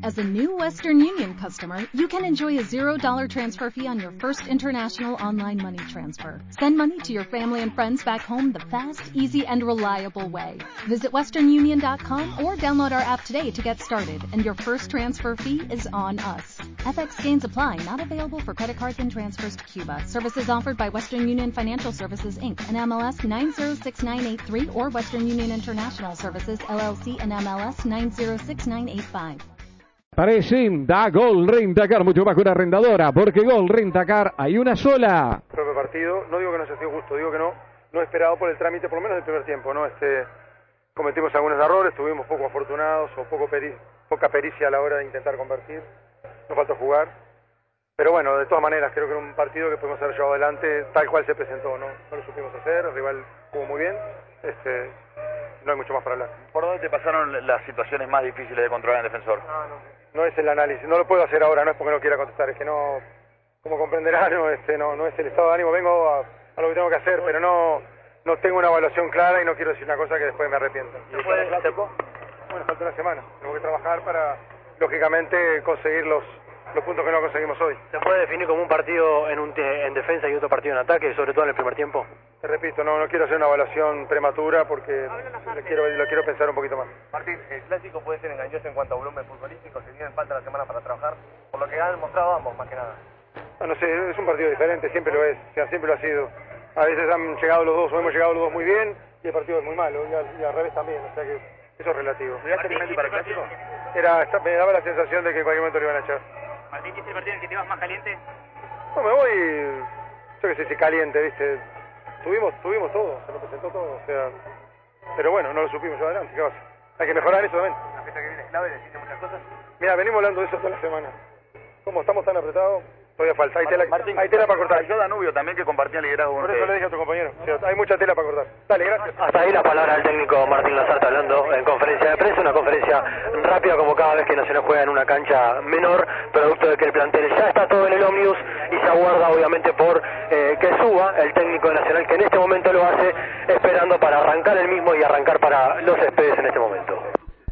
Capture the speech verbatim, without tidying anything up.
As a new Western Union customer, you can enjoy a zero dollar transfer fee on your first international online money transfer. Send money to your family and friends back home the fast, easy, and reliable way. Visit western union dot com or download our app today to get started, and your first transfer fee is on us. F X gains apply, not available for credit cards and transfers to Cuba. Services offered by Western Union Financial Services, Incorporated, and M L S nine zero six nine eight three or Western Union International Services, L L C, and M L S nine zero six nine eight five. Presenta Gol Rentacar, mucho más que una arrendadora, porque Gol Rentacar hay una sola. Propio partido, no digo que no se ha sido justo, digo que no, no esperado por el trámite, por lo menos del primer tiempo, ¿no? Este, cometimos algunos errores, estuvimos poco afortunados o poco peri poca pericia a la hora de intentar convertir, nos faltó jugar, pero bueno, de todas maneras creo que era un partido que pudimos haber llevado adelante tal cual se presentó, ¿no? No lo supimos hacer, el rival jugó muy bien, este, no hay mucho más para hablar. ¿Por dónde te pasaron las situaciones más difíciles de controlar en el defensor? No, no. No es el análisis, no lo puedo hacer ahora, no es porque no quiera contestar, es que no, como comprenderá, no, este, no, no es el estado de ánimo, vengo a, a lo que tengo que hacer, pero no, no tengo una evaluación clara y no quiero decir una cosa que después me arrepienta. ¿Y puede, clásico? Bueno, falta una semana, tengo que trabajar para, lógicamente, conseguir los, los puntos que no conseguimos hoy. ¿Se puede definir como un partido en, un en defensa y otro partido en ataque, sobre todo en el primer tiempo? Te repito, no, no quiero hacer una evaluación prematura porque lo quiero, lo quiero pensar un poquito más. Martín, el clásico puede ser engañoso en cuanto a volumen futbolístico, se tienen falta la semana para trabajar, por lo que han mostrado ambos, más que nada. No, no sé, es un partido diferente, siempre lo es, o sea, siempre lo ha sido. A veces han llegado los dos o hemos llegado los dos muy bien y el partido es muy malo, y al, y al revés también, o sea que eso es relativo. ¿Miraste el Mendy para el clásico? Era, me daba la sensación de que en cualquier momento lo iban a echar. Martín, ¿es el partido en el que te vas más caliente? No, me voy, yo qué sé si caliente, viste. Tuvimos, tuvimos todo, se nos presentó todo, o sea, pero bueno, no lo supimos llevar adelante, ¿qué va a hacer? Hay que mejorar eso también. La fecha que viene es clave, decirte muchas cosas. Mira, venimos hablando de eso toda la semana. Como estamos tan apretados, todavía falta, hay tela, Martín, hay tela para cortar. Yo Danubio también que compartía liderazgo. Por eso le dije a tu compañero, o sea, hay mucha tela para cortar. Dale, gracias. Hasta ahí la palabra del técnico Martín Lazarte hablando en conferencia de prensa, una conferencia rápida como cada vez que Nacional juega en una cancha menor, producto de que el plantel ya está todo en el ómnibus y se aguarda obviamente por eh, que suba el técnico de Nacional, que en este momento lo hace esperando para arrancar el mismo y arrancar para los Espedes.